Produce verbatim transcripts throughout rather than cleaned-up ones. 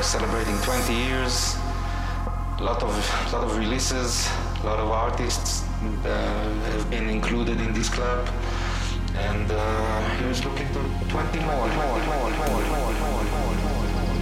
celebrating twenty years. A lot of lot of releases, a lot of artists uh, have been included in this club, and uh, he was looking to twenty more, more, more, more, more, more, more, more.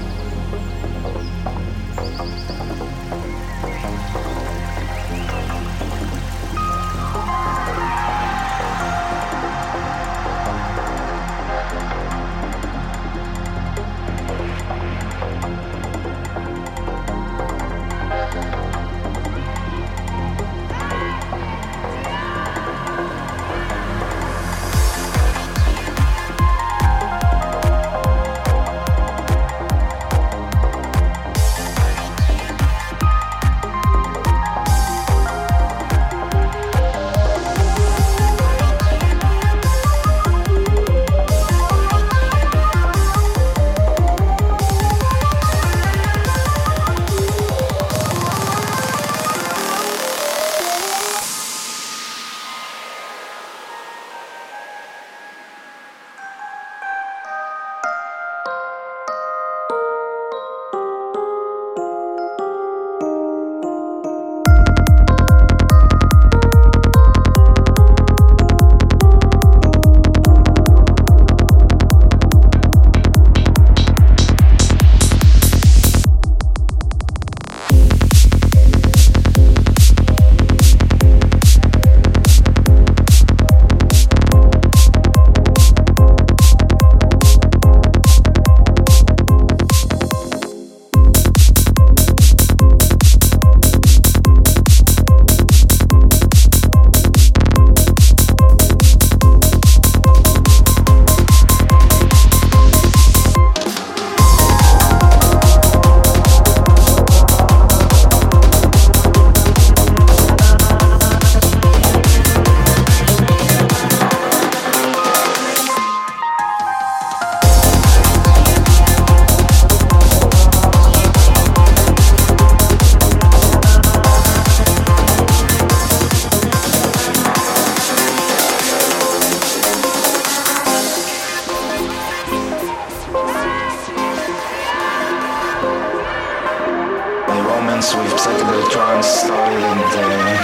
With psychedelic trance started in the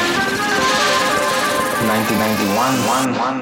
nineteen ninety-one. One, one.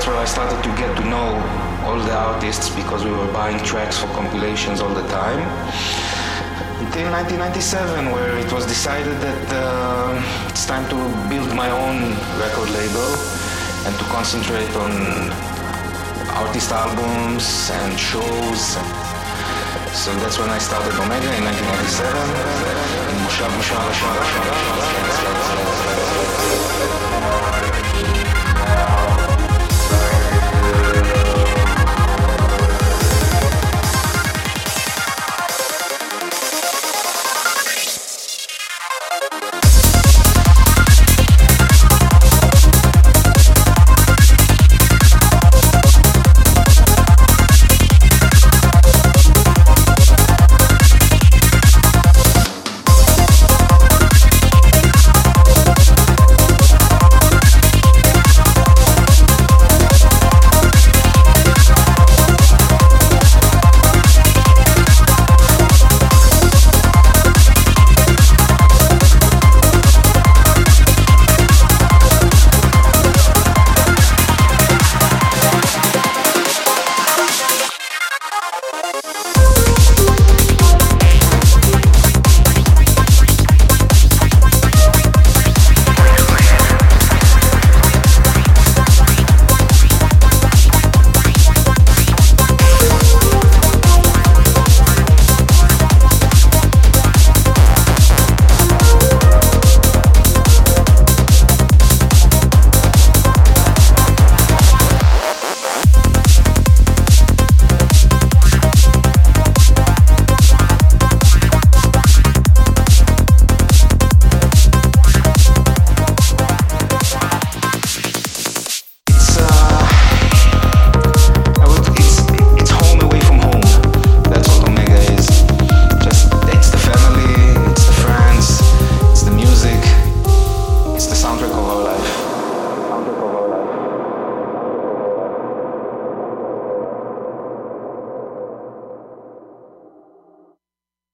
where I started to get to know all the artists because we were buying tracks for compilations all the time. Until nineteen ninety-seven, where it was decided that uh, it's time to build my own record label and to concentrate on artist albums and shows. So that's when I started Omega in nineteen ninety-seven. In Moshav, Moshav, Moshav, Moshav, Moshav, Moshav, Moshav, Moshav, Moshav, Moshav, Moshav, Moshav,